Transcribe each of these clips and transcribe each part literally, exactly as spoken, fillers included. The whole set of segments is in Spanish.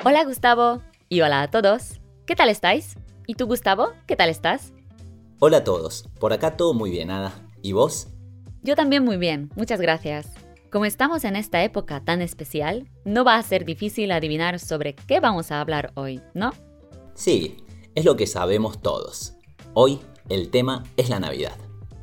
Hola Gustavo y hola a todos. ¿Qué tal estáis? ¿Y tú Gustavo? ¿Qué tal estás? Hola a todos, por acá todo muy bien, Ada. ¿Y vos? Yo también muy bien, muchas gracias. Como estamos en esta época tan especial, no va a ser difícil adivinar sobre qué vamos a hablar hoy, ¿no? Sí, es lo que sabemos todos. Hoy el tema es la Navidad.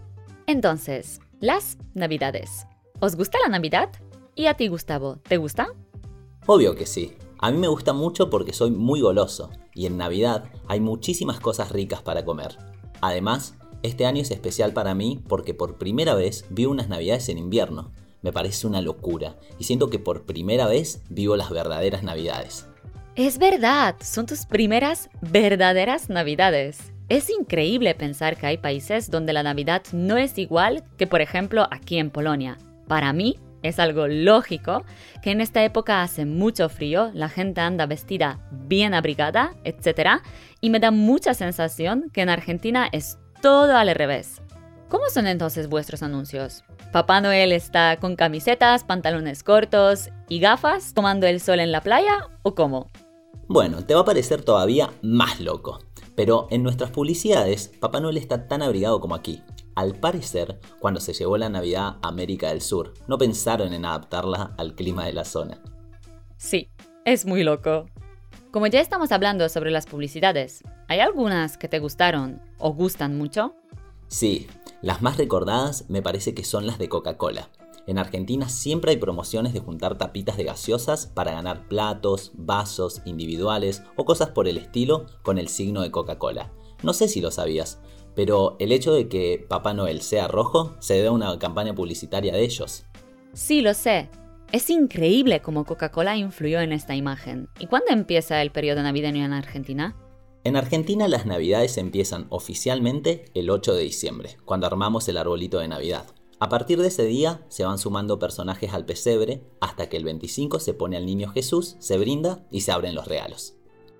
Entonces, las Navidades. ¿Os gusta la Navidad? ¿Y a ti Gustavo, te gusta? Obvio que sí. A mí me gusta mucho porque soy muy goloso y en Navidad hay muchísimas cosas ricas para comer. Además, este año es especial para mí porque por primera vez vivo unas Navidades en invierno. Me parece una locura y siento que por primera vez vivo las verdaderas Navidades. Es verdad, son tus primeras verdaderas Navidades. Es increíble pensar que hay países donde la Navidad no es igual que, por ejemplo, aquí en Polonia. Para mí, es algo lógico que en esta época hace mucho frío, la gente anda vestida bien abrigada, etcétera. Y me da mucha sensación que en Argentina es todo al revés. ¿Cómo son entonces vuestros anuncios? ¿Papá Noel está con camisetas, pantalones cortos y gafas tomando el sol en la playa o cómo? Bueno, te va a parecer todavía más loco, pero en nuestras publicidades Papá Noel está tan abrigado como aquí. Al parecer, cuando se llevó la Navidad a América del Sur, no pensaron en adaptarla al clima de la zona. Sí, es muy loco. Como ya estamos hablando sobre las publicidades, ¿hay algunas que te gustaron o gustan mucho? Sí, las más recordadas me parece que son las de Coca-Cola. En Argentina siempre hay promociones de juntar tapitas de gaseosas para ganar platos, vasos individuales o cosas por el estilo con el signo de Coca-Cola. No sé si lo sabías, pero el hecho de que Papá Noel sea rojo se debe a una campaña publicitaria de ellos. Sí, lo sé. Es increíble cómo Coca-Cola influyó en esta imagen. ¿Y cuándo empieza el periodo navideño en Argentina? En Argentina las Navidades empiezan oficialmente el ocho de diciembre, cuando armamos el arbolito de Navidad. A partir de ese día se van sumando personajes al pesebre hasta que el veinticinco se pone al niño Jesús, se brinda y se abren los regalos.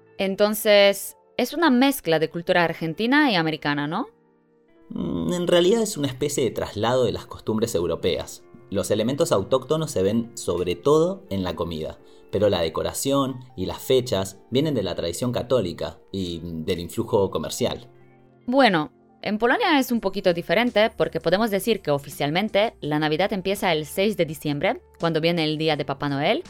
Entonces, es una mezcla de cultura argentina y americana, ¿no? En realidad es una especie de traslado de las costumbres europeas. Los elementos autóctonos se ven sobre todo en la comida, pero la decoración y las fechas vienen de la tradición católica y del influjo comercial. Bueno, en Polonia es un poquito diferente porque podemos decir que oficialmente la Navidad empieza el seis de diciembre, cuando viene el día de Papá Noel,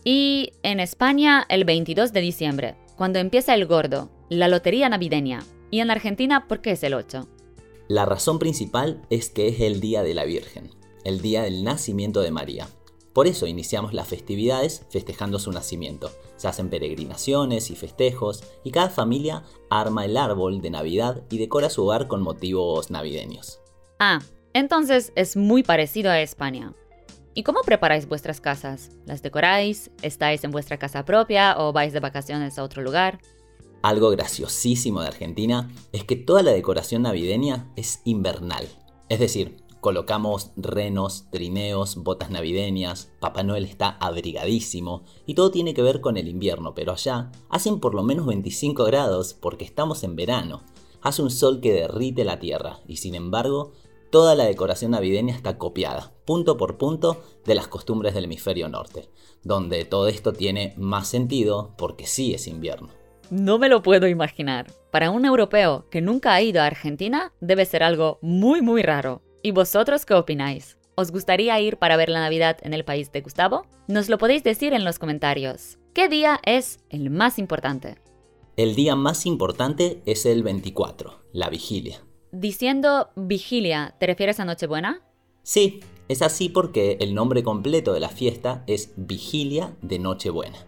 y en España el veintidós de diciembre, cuando empieza el Gordo, la lotería navideña. Y en Argentina, ¿por qué es el ocho? La razón principal es que es el Día de la Virgen, el día del nacimiento de María. Por eso iniciamos las festividades festejando su nacimiento. Se hacen peregrinaciones y festejos y cada familia arma el árbol de Navidad y decora su hogar con motivos navideños. Ah, entonces es muy parecido a España. ¿Y cómo preparáis vuestras casas? ¿Las decoráis? ¿Estáis en vuestra casa propia o vais de vacaciones a otro lugar? Algo graciosísimo de Argentina es que toda la decoración navideña es invernal. Es decir, colocamos renos, trineos, botas navideñas, Papá Noel está abrigadísimo y todo tiene que ver con el invierno, pero allá hacen por lo menos veinticinco grados porque estamos en verano. Hace un sol que derrite la tierra y sin embargo toda la decoración navideña está copiada, punto por punto, de las costumbres del hemisferio norte, donde todo esto tiene más sentido porque sí es invierno. No me lo puedo imaginar. Para un europeo que nunca ha ido a Argentina, debe ser algo muy muy raro. ¿Y vosotros qué opináis? ¿Os gustaría ir para ver la Navidad en el país de Gustavo? Nos lo podéis decir en los comentarios. ¿Qué día es el más importante? El día más importante es el veinticuatro, la vigilia. Diciendo vigilia, ¿te refieres a Nochebuena? Sí, es así porque el nombre completo de la fiesta es Vigilia de Nochebuena.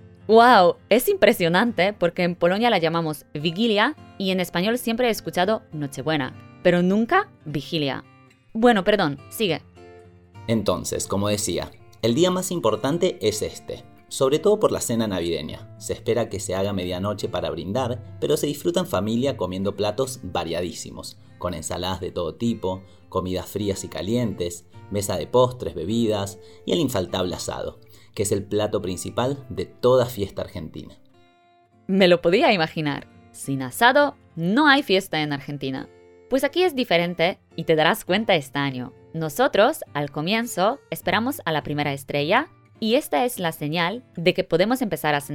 ¡Wow! Es impresionante porque en Polonia la llamamos vigilia y en español siempre he escuchado Nochebuena, pero nunca vigilia. Bueno, perdón, sigue. Entonces, como decía, el día más importante es este, sobre todo por la cena navideña. Se espera que se haga medianoche para brindar, pero se disfruta en familia comiendo platos variadísimos, con ensaladas de todo tipo, comidas frías y calientes, mesa de postres, bebidas y el infaltable asado, que es el plato principal de toda fiesta argentina. Me lo podía imaginar. Sin asado, no hay fiesta en Argentina. Pues aquí es diferente y te darás cuenta este año. Nosotros, al comienzo, esperamos a la primera estrella y esta es la señal de que podemos empezar a cenar.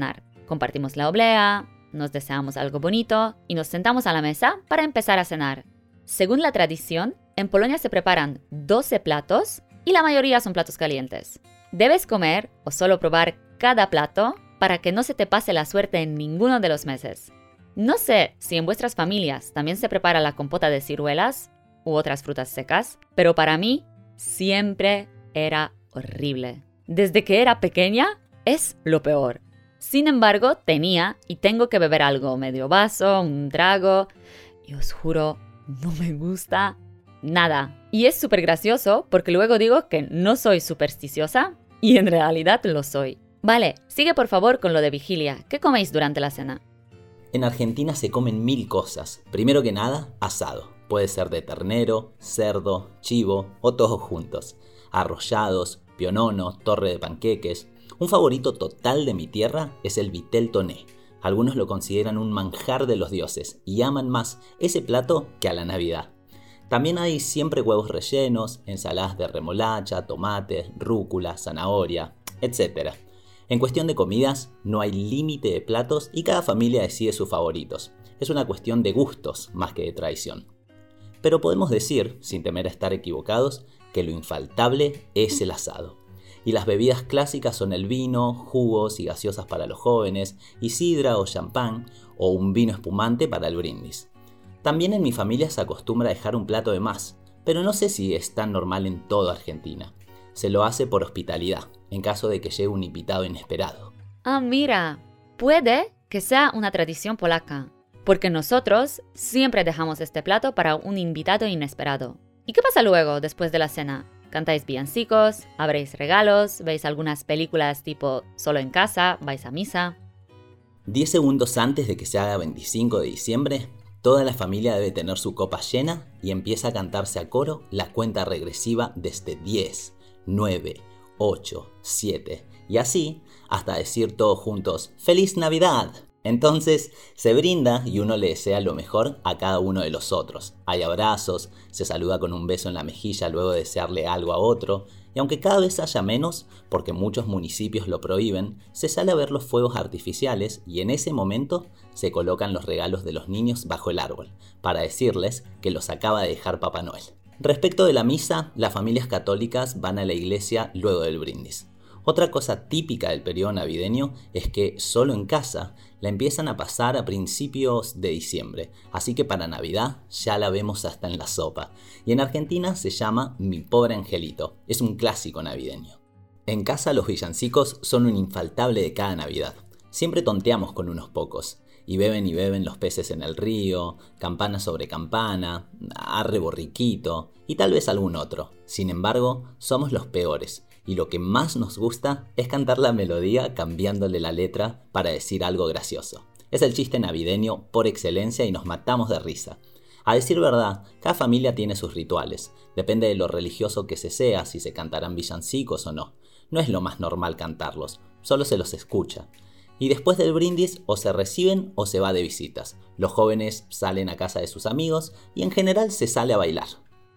compartimos la oblea, nos deseamos algo bonito y nos sentamos a la mesa para empezar a cenar. Según la tradición, en Polonia se preparan doce platos y la mayoría son platos calientes. Debes comer o solo probar cada plato para que no se te pase la suerte en ninguno de los meses. No sé si en vuestras familias también se prepara la compota de ciruelas u otras frutas secas, pero para mí siempre era horrible. Desde que era pequeña es lo peor. Sin embargo, tenía y tengo que beber algo, medio vaso, un trago, y os juro, no me gusta nada. Y es súper gracioso porque luego digo que no soy supersticiosa y en realidad lo soy. Vale, sigue por favor con lo de vigilia. ¿Qué coméis durante la cena? En Argentina se comen mil cosas. Primero que nada, asado. Puede ser de ternero, cerdo, chivo o todos juntos. Arrollados, pionono, torre de panqueques. Un favorito total de mi tierra es el vitel toné. Algunos lo consideran un manjar de los dioses y aman más ese plato que a la Navidad. También hay siempre huevos rellenos, ensaladas de remolacha, tomate, rúcula, zanahoria, etcétera. En cuestión de comidas, no hay límite de platos y cada familia decide sus favoritos. Es una cuestión de gustos más que de tradición. Pero podemos decir, sin temer a estar equivocados, que lo infaltable es el asado. Y las bebidas clásicas son el vino, jugos y gaseosas para los jóvenes, y sidra o champán, o un vino espumante para el brindis. También en mi familia se acostumbra a dejar un plato de más, pero no sé si es tan normal en toda Argentina. Se lo hace por hospitalidad, en caso de que llegue un invitado inesperado. Ah, mira, puede que sea una tradición polaca, porque nosotros siempre dejamos este plato para un invitado inesperado. ¿Y qué pasa luego, después de la cena? ¿Cantáis villancicos? ¿Abréis regalos? ¿Veis algunas películas tipo Solo en casa? ¿Vais a misa? Diez segundos antes de que se haga veinticinco de diciembre, toda la familia debe tener su copa llena y empieza a cantarse a coro la cuenta regresiva desde diez, nueve, ocho, siete y así hasta decir todos juntos ¡Feliz Navidad! Entonces se brinda y uno le desea lo mejor a cada uno de los otros. Hay abrazos, se saluda con un beso en la mejilla luego de desearle algo a otro, y aunque cada vez haya menos, porque muchos municipios lo prohíben, se sale a ver los fuegos artificiales y en ese momento se colocan los regalos de los niños bajo el árbol, para decirles que los acaba de dejar Papá Noel. Respecto de la misa, las familias católicas van a la iglesia luego del brindis. Otra cosa típica del periodo navideño es que solo en casa la empiezan a pasar a principios de diciembre, así que para Navidad ya la vemos hasta en la sopa. Y en Argentina se llama Mi Pobre Angelito, es un clásico navideño. En casa los villancicos son un infaltable de cada Navidad. Siempre tonteamos con unos pocos. Y beben y beben los peces en el río, campana sobre campana, arre borriquito y tal vez algún otro. Sin embargo, somos los peores y lo que más nos gusta es cantar la melodía cambiándole la letra para decir algo gracioso. Es el chiste navideño por excelencia y nos matamos de risa. A decir verdad, cada familia tiene sus rituales. Depende de lo religioso que se sea, si se cantarán villancicos o no. No es lo más normal cantarlos, solo se los escucha. Y después del brindis o se reciben o se va de visitas. Los jóvenes salen a casa de sus amigos y en general se sale a bailar.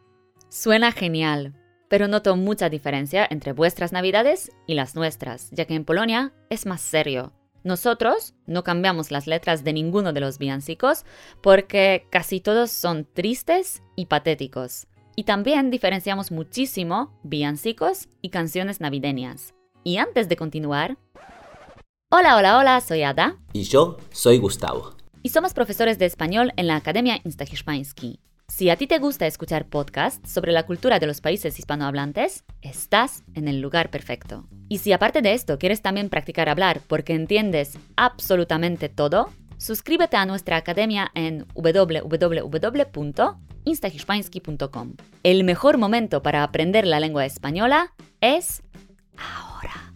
Suena genial, pero noto mucha diferencia entre vuestras navidades y las nuestras, ya que en Polonia es más serio. Nosotros no cambiamos las letras de ninguno de los villancicos porque casi todos son tristes y patéticos. Y también diferenciamos muchísimo villancicos y canciones navideñas. Y antes de continuar... Hola, hola, hola, soy Ada. Y yo soy Gustavo. Y somos profesores de español en la Academia Insta-Hiszpański. Si a ti te gusta escuchar podcasts sobre la cultura de los países hispanohablantes, estás en el lugar perfecto. Y si aparte de esto quieres también practicar hablar porque entiendes absolutamente todo, suscríbete a nuestra academia en w w w punto insta hiszpański punto com. El mejor momento para aprender la lengua española es ahora.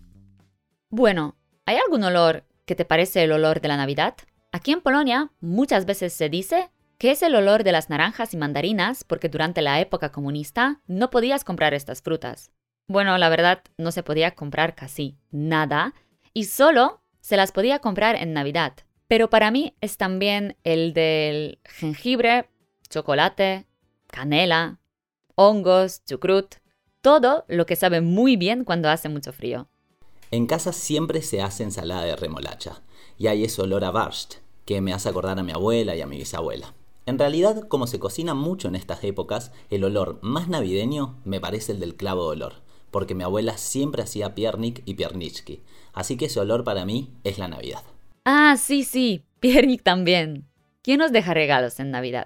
Bueno, ¿hay algún olor que te parece el olor de la Navidad? Aquí en Polonia muchas veces se dice que es el olor de las naranjas y mandarinas porque durante la época comunista no podías comprar estas frutas. Bueno, la verdad no se podía comprar casi nada y solo se las podía comprar en Navidad. Pero para mí es también el del jengibre, chocolate, canela, hongos, chucrut, todo lo que sabe muy bien cuando hace mucho frío. En casa siempre se hace ensalada de remolacha y hay ese olor a Borscht que me hace acordar a mi abuela y a mi bisabuela. En realidad, como se cocina mucho en estas épocas, el olor más navideño me parece el del clavo de olor, porque mi abuela siempre hacía piernik y pierniczki, así que ese olor para mí es la Navidad. Ah, sí, sí, piernik también. ¿Quién nos deja regalos en Navidad?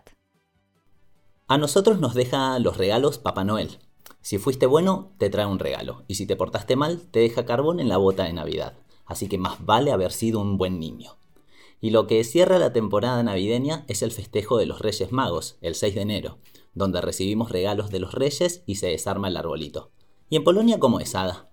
A nosotros nos deja los regalos Papá Noel. Si fuiste bueno, te trae un regalo, y si te portaste mal, te deja carbón en la bota de Navidad, así que más vale haber sido un buen niño. Y lo que cierra la temporada navideña es el festejo de los Reyes Magos, el seis de enero, donde recibimos regalos de los Reyes y se desarma el arbolito. ¿Y en Polonia cómo es, Ada?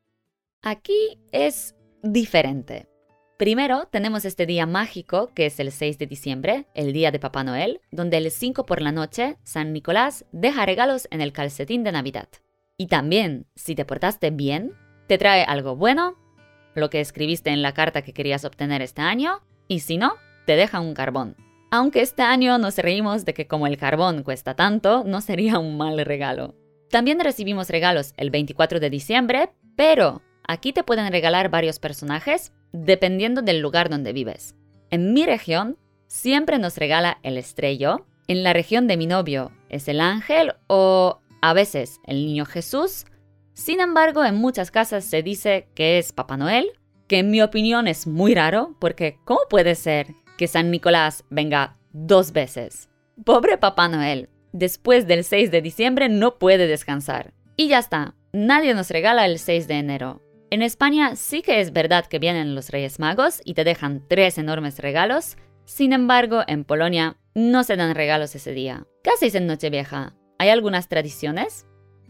Aquí es diferente. Primero tenemos este día mágico que es el seis de diciembre, el día de Papá Noel, donde el cinco por la noche San Nicolás deja regalos en el calcetín de Navidad. Y también, si te portaste bien, te trae algo bueno, lo que escribiste en la carta que querías obtener este año, y si no, te deja un carbón. Aunque este año nos reímos de que como el carbón cuesta tanto, no sería un mal regalo. También recibimos regalos el veinticuatro de diciembre, pero aquí te pueden regalar varios personajes dependiendo del lugar donde vives. En mi región, siempre nos regala el estrello. En la región de mi novio es el ángel o a veces el niño Jesús. Sin embargo, en muchas casas se dice que es Papá Noel, que en mi opinión es muy raro, porque ¿cómo puede ser que San Nicolás venga dos veces? Pobre Papá Noel, después del seis de diciembre no puede descansar. Y ya está, nadie nos regala el seis de enero. En España sí que es verdad que vienen los Reyes Magos y te dejan tres enormes regalos. Sin embargo, en Polonia no se dan regalos ese día. ¿Qué hacéis en Nochevieja? ¿Hay algunas tradiciones?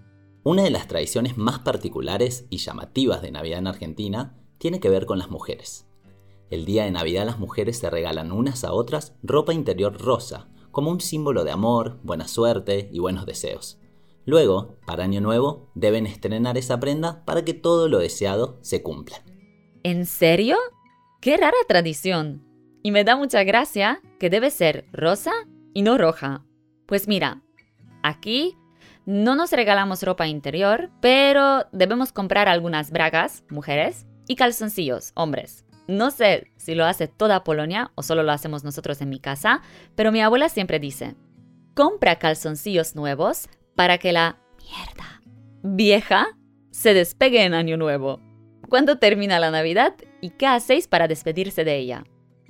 Una de las tradiciones más particulares y llamativas de Navidad en Argentina tiene que ver con las mujeres. El día de Navidad las mujeres se regalan unas a otras ropa interior rosa, como un símbolo de amor, buena suerte y buenos deseos. Luego, para Año Nuevo, deben estrenar esa prenda para que todo lo deseado se cumpla. ¿En serio? ¡Qué rara tradición! Y me da mucha gracia que debe ser rosa y no roja. Pues mira, aquí no nos regalamos ropa interior, pero debemos comprar algunas bragas, mujeres, y calzoncillos, hombres. No sé si lo hace toda Polonia o solo lo hacemos nosotros en mi casa, pero mi abuela siempre dice, compra calzoncillos nuevos para que la mierda vieja se despegue en Año Nuevo. ¿Cuándo termina la Navidad y qué hacéis para despedirse de ella?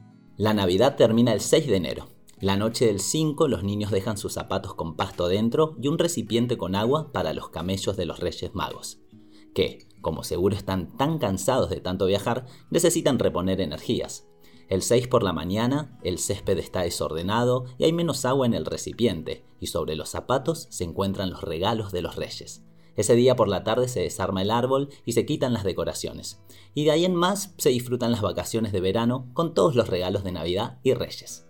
La Navidad termina el seis de enero. La noche del cinco los niños dejan sus zapatos con pasto dentro y un recipiente con agua para los camellos de los Reyes Magos, que, como seguro están tan cansados de tanto viajar, necesitan reponer energías. El seis por la mañana, el césped está desordenado y hay menos agua en el recipiente, y sobre los zapatos se encuentran los regalos de los reyes. Ese día por la tarde se desarma el árbol y se quitan las decoraciones. Y de ahí en más se disfrutan las vacaciones de verano con todos los regalos de Navidad y Reyes.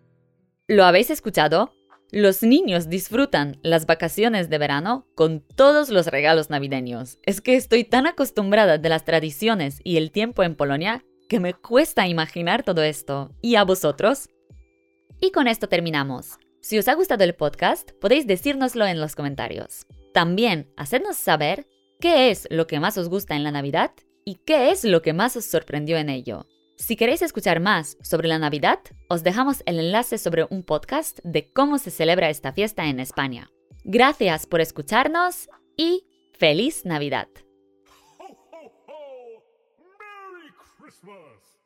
¿Lo habéis escuchado? Los niños disfrutan las vacaciones de verano con todos los regalos navideños. Es que estoy tan acostumbrada de las tradiciones y el tiempo en Polonia que me cuesta imaginar todo esto. ¿Y a vosotros? Y con esto terminamos. Si os ha gustado el podcast, podéis decírnoslo en los comentarios. También, hacednos saber qué es lo que más os gusta en la Navidad y qué es lo que más os sorprendió en ello. Si queréis escuchar más sobre la Navidad, os dejamos el enlace sobre un podcast de cómo se celebra esta fiesta en España. Gracias por escucharnos y ¡Feliz Navidad! Ho, ho, ho! Merry Christmas!